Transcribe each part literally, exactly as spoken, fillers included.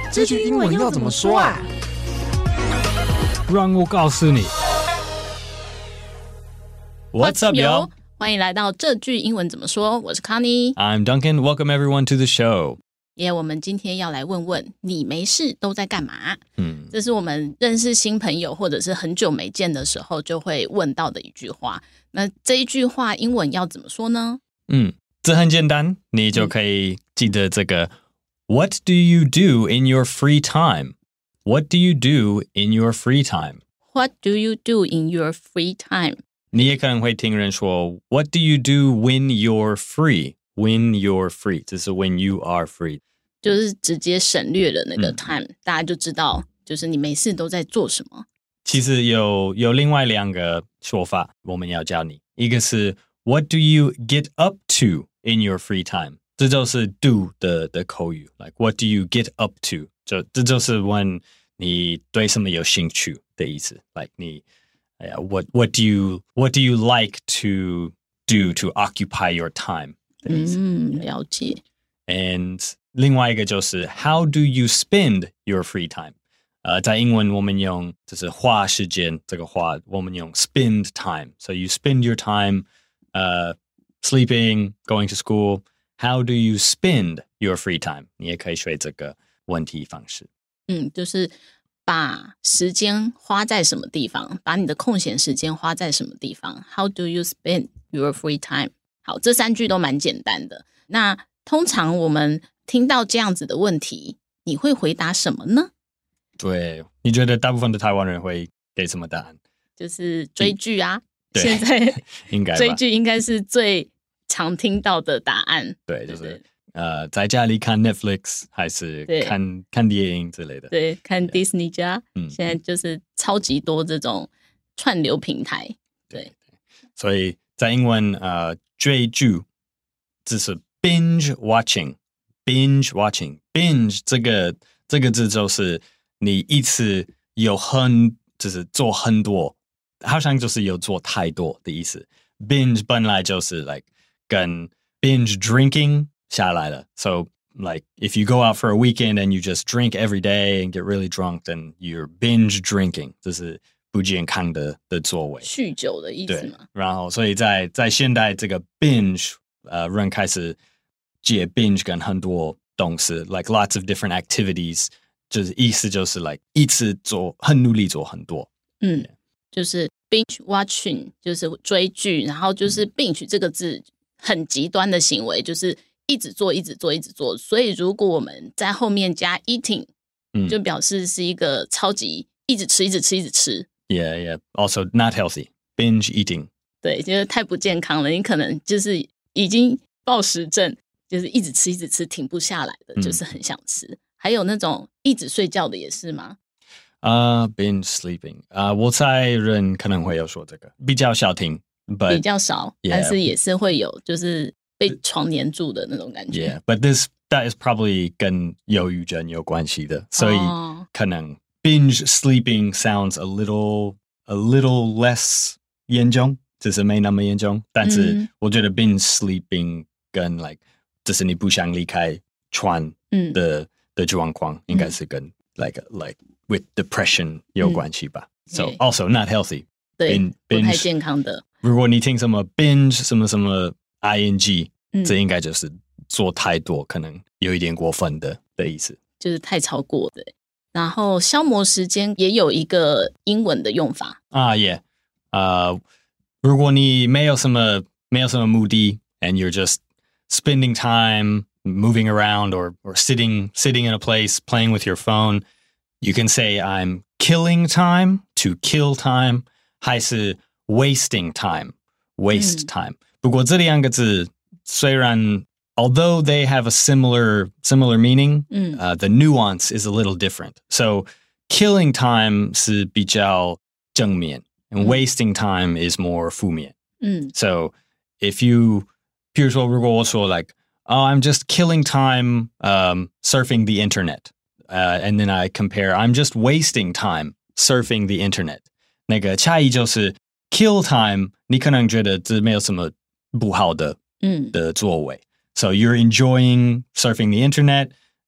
這句英文要怎麼說啊？ 讓我告訴你。 What's up, yo? 歡迎來到這句英文怎麼說？我是 Connie， I'm Duncan. Welcome everyone to the show. 耶，yeah, 我們今天要來問問你沒事都在幹嘛？ 嗯， 這是我們認識新朋友或者是很久沒見的時候就會問到的一句話。那這一句話英文要怎麼說呢？ 嗯，這很簡單，你就可以記得這個。What do you do in your free time? What do you do in your free time? What do you do in your free time? 你也可能會聽人說 What do you do when you're free? When you're free 這是 when you are free 就是直接省略了那個 time、嗯、大家就知道就是你沒事都在做什麼。 其實有有另外兩個說法我們要教你，一個是 What do you get up to in your free time? 這就是 do 的, 的口語 Like what do you get up to? 就這就是 when 你對什麼有興趣的意思 Like 你Yeah, what what do you what do you like to do to occupy your time? 嗯，了解。 And 另外一個就是 How do you spend your free time? 呃，在英文我們用就是花時間這個花，我們用 spend time. So you spend your time, uh, sleeping, going to school. How do you spend your free time? 你也可以學這個問題方式。 嗯，就是把時間花在什麼地方，把你的空閒時間花在什麼地方。How do you spend your free time? 好，這三句都蠻簡單的。那通常我們聽到這樣子的問題，你會回答什麼呢？ 對，你覺得大部分的台灣人會給什麼答案？ 就是追劇啊。 對， 現在應該追劇應該是最常聽到的答案。 對，就是對對呃，在家裡看 Netflix 還是看看電影之類的。 對，看 Disney 加，嗯，現在就是超級多這種串流平台。對，對對， 所以在英文呃。追劇只是 binge watching binge watching binge 這個這個字就是你一次有很就是做很多，好像就是有做太多的意思。binge 本來就是 like 跟 binge drinking 下來了， so like if you go out for a weekend and you just drink every day and get really drunk, then you're binge drinking， 這是不健康的的作為， 酗酒的意思嗎？ 然後，所以在在現代這個 binge， 呃，人開始接 binge 跟很多東西 ，like lots of different activities， 就是意思就是 like 一次做很努力做很多。 嗯，就是 binge watching 就是追劇，然後就是 binge 這個字很極端的行為，就是一直做一直做一直做。所以如果我們在後面加 eating，嗯，就表示是一個超級一直吃一直吃一直吃。 Yeah, yeah. Also not healthy. Binge eating. 對，就是太不健康了。你可能就是已經暴食症，就是一直吃一直吃停不下來的，嗯、就是很想吃。還有那種一直睡覺的也是嗎？ 啊、uh, ，binge sleeping 啊、uh, ，我猜人可能會有說這個，比較少聽， 比較少， yeah. 但是也是會有，就是被床黏住的那種感覺。 Yeah, but this that is probably 跟憂鬱症有關係的，所以可能。Binge sleeping sounds a little a little less 嚴重，只是沒那麼嚴重。但是我覺得 binge sleeping 跟 like 就是你不想離開床的、嗯、的狀況，應該是跟 like like with depression 有關係吧。嗯、so also not healthy。 對， binge, 不太健康的。 如果你聽什麼 binge 什麼什麼 ing，、嗯、這應該就是做太多，可能有一點過分的的意思， 就是太超過的。然後消磨時間也有一個英文的用法啊，也，呃，如果你沒有什麼沒有什麼目的 ，and you're just spending time moving around or or sitting sitting in a place playing with your phone, you can say I'm killing time to kill time， 還是 wasting time waste time、嗯。不過這兩個字雖然。Although they have a similar similar meaning, mm. uh, the nuance is a little different. So, killing time 是比較正面 and mm. wasting time is more 負面 Mm. So, if you, 比如說如果我說 like, oh, I'm just killing time um, surfing the internet, uh, and then I compare, I'm just wasting time surfing the internet. 那個差異就是 kill time, 你可能覺得這沒有什麼不好的的作為。So you're enjoying surfing the internet,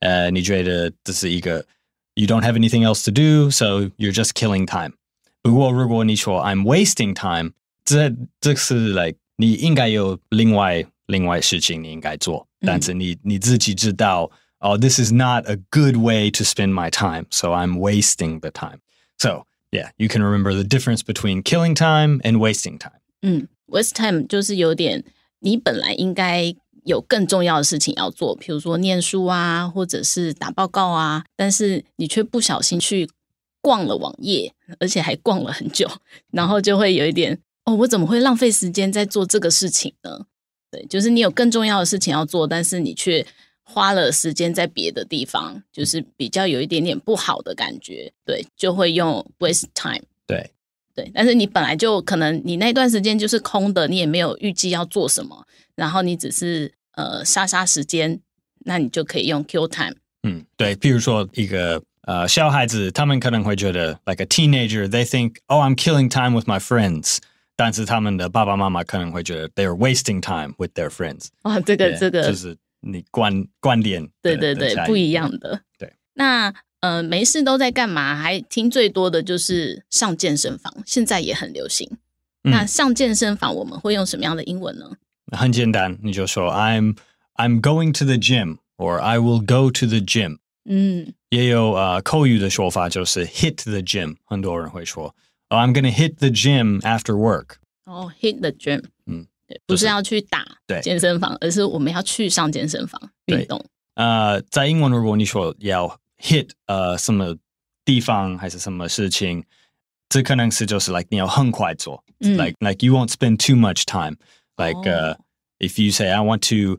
呃，你覺得這是一個 you don't have anything else to do, so you're just killing time. 不過如果你說 I'm wasting time, 這這是 like 你應該有另外另外事情你應該做，但是你你自己知道 oh, this is not a good way to spend my time, so I'm wasting the time. So, yeah, you can remember the difference between killing time and wasting time. 嗯 waste time 就是有點你本來應該有更重要的事情要做，比如說念書啊，或者是打報告啊，但是你卻不小心去逛了網頁，而且還逛了很久，然後就會有一點哦，我怎麼會浪費時間在做這個事情呢？對，就是你有更重要的事情要做，但是你卻花了時間在別的地方，就是比較有一點點不好的感覺，對，就會用 waste time。 對對，但是你本來就可能你那段時間就是空的，你也沒有預計要做什麼，然後你只是呃殺殺時間，那你就可以用 kill time。 嗯，對，譬如說一個呃小孩子，他們可能會覺得 like a teenager, they think, oh, I'm killing time with my friends. 但是他們的爸爸媽媽可能會覺得 they're wasting time with their friends。哇， 這個這個就是你觀觀點， 對對對，不一樣的。 對， 那呃沒事都在幹嘛？還聽最多的就是上健身房，現在也很流行。嗯、那上健身房我們會用什麼樣的英文呢？ 很簡單，你就說 I'm I'm going to the gym or I will go to the gym。嗯，也有呃口語的說法就是 hit the gym， 很多人會說。Oh, I'm going to hit the gym after work. 哦、oh, hit the gym. 嗯， 不是要去打健身房，而是我們要去上健身房運動。 呃，在英文如果你說要 hit 呃什麼地方還是什麼事情，這可能是就是 like 你要很快做、嗯、，like like you won't spend too much time. Like、oh. uh, if you say I want to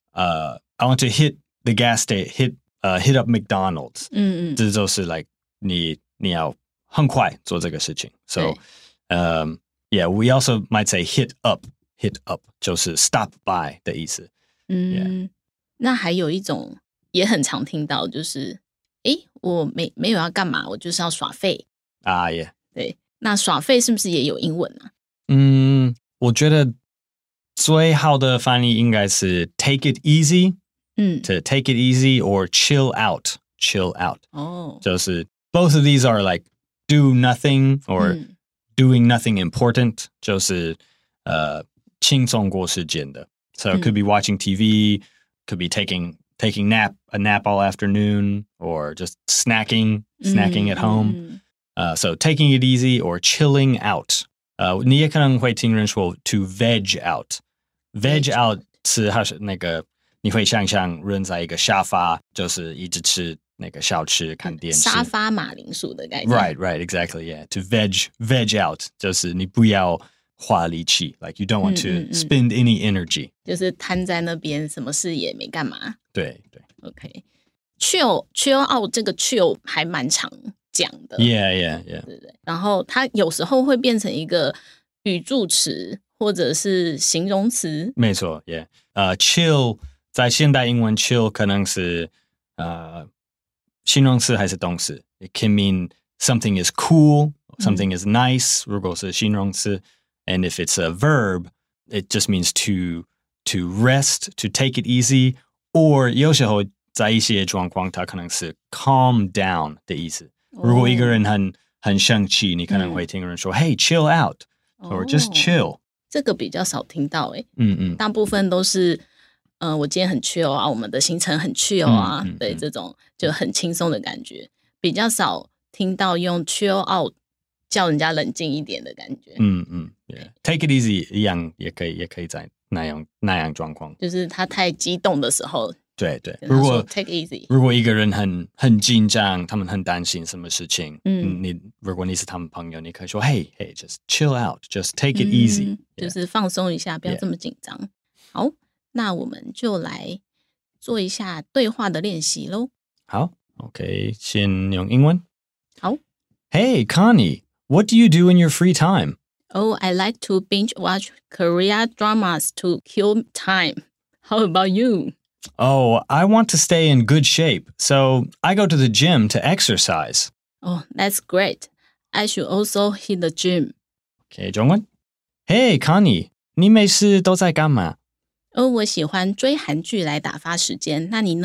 uh I want to hit the gas station, hit uh hit up McDonald's. 嗯嗯，這就是 like 你你要很快做這個事情 ，so, um, yeah, we also might say hit up, hit up 就是 stop by 的意思。嗯， yeah. 那還有一種也很常聽到，就是誒，我沒沒有要幹嘛，我就是要耍廢啊，耶、ah, yeah. 對，那耍廢是不是也有英文啊？ 嗯，我覺得最好的翻譯應該是 take it easy， 嗯 ，to take it easy or chill out, chill out。哦，就是 both of these are like do nothing or、嗯、doing nothing important， 就是呃輕鬆過時間的。So it could be watching T V, could be taking taking nap a nap all afternoon, or just snacking snacking at home. Uh, so taking it easy or chilling out. 呃，你也可能會聽人說 to veg out. Veg out 是還是那個你會想象人在一個沙發，就是一直吃那個小吃看電視。 沙發馬鈴薯的概念。 Right, right, exactly, yeah. To veg veg out 就是你不要花力氣 like you don't want to spend any energy， 就是癱在那邊，什麼事也沒幹嘛。 對對 ，OK。chill chill out 這個 chill 還蠻常講的 ，yeah yeah yeah， 對對。然後它有時候會變成一個語助詞或者是形容詞。 沒錯 ，yeah， 呃、uh, ，chill 在現代英文 chill 可能是呃、uh, 形容詞還是動詞 ？It can mean something is cool, something、嗯、is nice， 如果是形容詞。And if it's a verb, it just means to to rest, to take it easy, or 有時候在一些狀況，它可能是 calm down 的意思。Oh. 如果一個人很很生氣，你可能會聽人說、嗯、，Hey, chill out, or、oh. just chill。 這個比較少聽到誒， 嗯嗯， 大部分都是，呃，我今天很 chill 啊，我們的行程很 chill 啊，嗯嗯、對、嗯、這種就很輕鬆的感覺，比較少聽到用 chill out。叫人家冷靜一點的感覺。嗯嗯 yeah. Take it easy 一樣也可以，也可以在那樣那樣狀況。 就是他太激動的時候。 對對。如果 take it easy， 如果一個人很很緊張，他們很擔心什麼事情，嗯，你如果你是他們朋友，你可以說 Hey hey just chill out, just take it easy，、嗯、 就是放鬆一下，不要這麼緊張。Yeah. 好，那我們就來做一下對話的練習嘍。 好 ，OK， 先用英文。 好 ，Hey Connie。What do you do in your free time? Oh, I like to binge watch Korean dramas to kill time. How about you? Oh, I want to stay in good shape, so I go to the gym to exercise. Oh, that's great. I should also hit the gym. Okay, 中文。Hey, Connie, 你沒事都在幹嘛？ 哦，我喜歡追韓劇來打發時間。那你呢？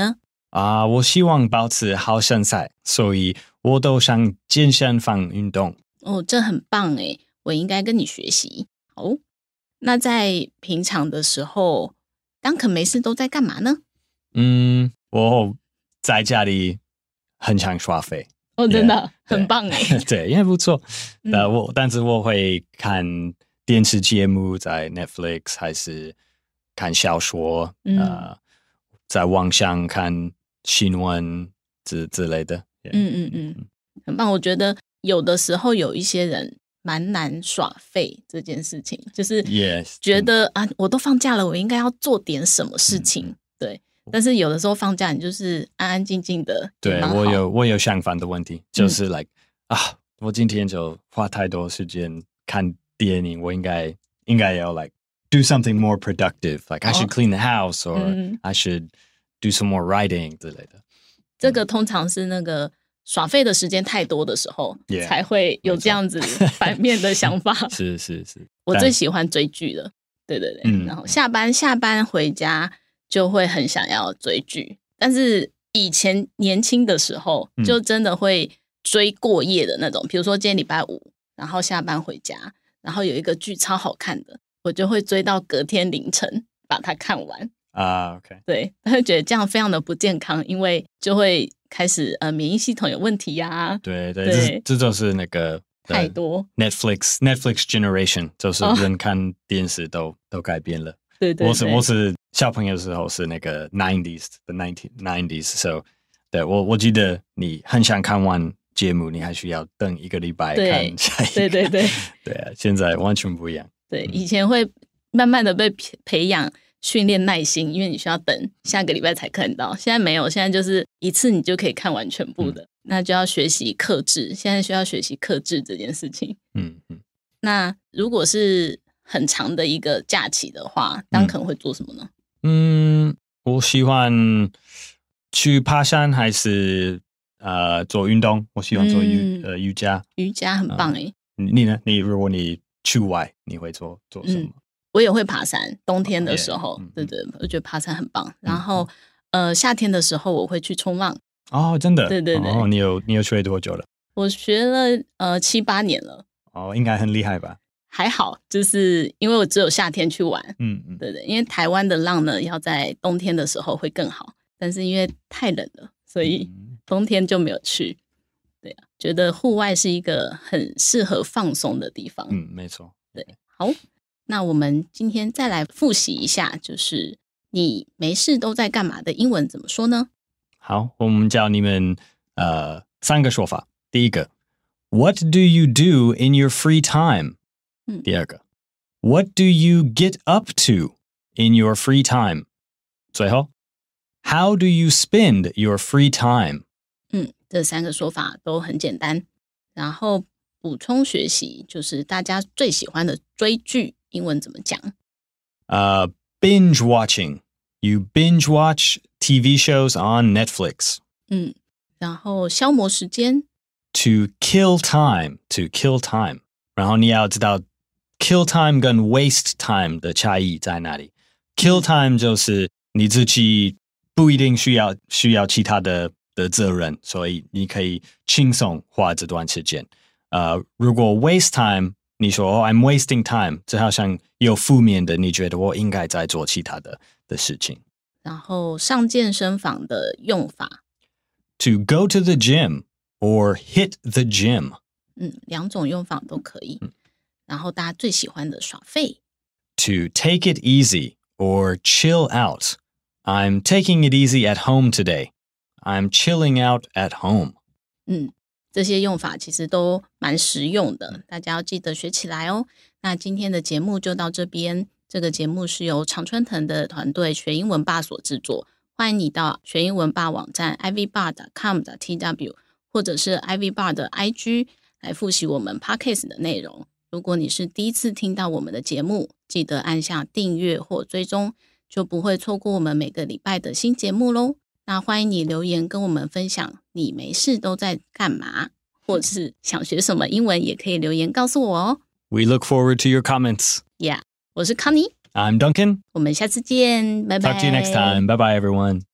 啊、uh, 我希望保持好身材，所以我都上健身房運動。 哦，這很棒誒，我應該跟你學習。好，那在平常的時候，Duncan沒事都在幹嘛呢？ 嗯，我在家裡很常耍廢。 哦，真的 yeah, 很棒誒。 對，也不錯。呃、嗯，我但是我會看電視節目，在 Netflix 還是看小說，嗯、呃，在網上看新聞之之類的。Yeah. 嗯嗯嗯，很棒。我覺得有的時候有一些人蠻難耍廢這件事情，就是覺得、yes. 啊，我都放假了，我應該要做點什麼事情。嗯、對，但是有的時候放假，你就是安安靜靜的。 對，我有我有相反的問題，就是 like、嗯、啊，我今天就花太多時間看電影，我應該應該要 like do something more productive. Like I should clean the house, or、嗯、I should do some more writing 之類的。 這個通常是那個耍廢的時間太多的時候， yeah, 才會有這樣子反面的想法。 是是是， 我最喜歡追劇了。對對對、嗯，然後下班下班回家就會很想要追劇，但是以前年輕的時候就真的會追過夜的那種。比、嗯、如說今天禮拜五，然後下班回家，然後有一個劇超好看的，我就會追到隔天凌晨把它看完。 啊、uh, ，OK， 對，他會覺得這樣非常的不健康，因為就會開始呃免疫系統有問題呀、啊。 對對，對這這就是那個太多 Netflix Netflix generation， 就是人看電視都、oh. 都改變了。 對對對， 我是我是小朋友的時候是那個 nineties 的 nineteen nineties，so 對我我記得你很想看完節目，你還需要等一個禮拜看下一個。對對對對啊，現在完全不一樣。 對，以前會慢慢的被培養。訓練耐心，因為你需要等下個禮拜才看到。現在沒有，現在就是一次你就可以看完全部的，嗯、那就要學習克制。現在需要學習克制這件事情。 嗯嗯。 那如果是很長的一個假期的話，當可能會做什麼呢？ 嗯，我喜歡去爬山，還是呃做運動。我喜歡做瑜、嗯、呃瑜伽。瑜伽很棒哎、呃。你呢？你如果你去外，你會做做什麼？嗯，我也會爬山，冬天的時候，oh, yeah. 對對，我覺得爬山很棒。嗯、然後，呃，夏天的時候我會去衝浪。哦，真的？對對對。哦，你有你有學多久了？我學了呃七八年了。哦，應該很厲害吧？還好，就是因為我只有夏天去玩。嗯嗯，對對，因為台灣的浪呢，要在冬天的時候會更好，但是因為太冷了，所以冬天就沒有去。對啊，覺得戶外是一個很適合放鬆的地方。嗯，沒錯。對，好。那我們今天再來複習一下，就是你沒事都在幹嘛的英文怎麼說呢？好，我們教你們呃三個說法。第一個 ，What do you do in your free time？、嗯、第二個 ，What do you get up to in your free time？ 最後 ，How do you spend your free time？ 嗯，這三個說法都很簡單。然後補充學習就是大家最喜歡的追劇。英文怎麼講？呃、uh, binge watching. You binge watch T V shows on Netflix. 嗯，然後消磨時間 To kill time. To kill time. 然後你要知道 kill time 跟 waste time 的差異在哪裡。Kill time 就是你自己不一定需要需要其他的的責任，所以你可以輕鬆花這段時間。呃、uh, 如果 waste time你說、oh, I'm wasting time， 這好像有負面的，你覺得我應該在做其他的的事情。然後上健身房的用法 To go to the gym or hit the gym。 嗯，兩種用法都可以。嗯、然後大家最喜歡的耍廢 To take it easy or chill out。 I'm taking it easy at home today. I'm chilling out at home。 嗯，這些用法其實都蠻實用的，大家要記得學起來哦。那今天的節目就到這邊，這個節目是由常春藤的團隊學英文吧所製作，歡迎你到學英文吧網站 i v bar dot com dot t w 或者是 i v bar 的 I G 來複習我們 Podcast 的內容。如果你是第一次聽到我們的節目，記得按下訂閱或追蹤，就不會錯過我們每個禮拜的新節目咯。那歡迎你留言跟我們分享你沒事都在幹嘛，或是想學什麼英文也可以留言告訴我哦。We look forward to your comments. Yeah, 我是 Connie. I'm Duncan. 我們下次見，拜拜。Talk to you next time. Bye bye, everyone.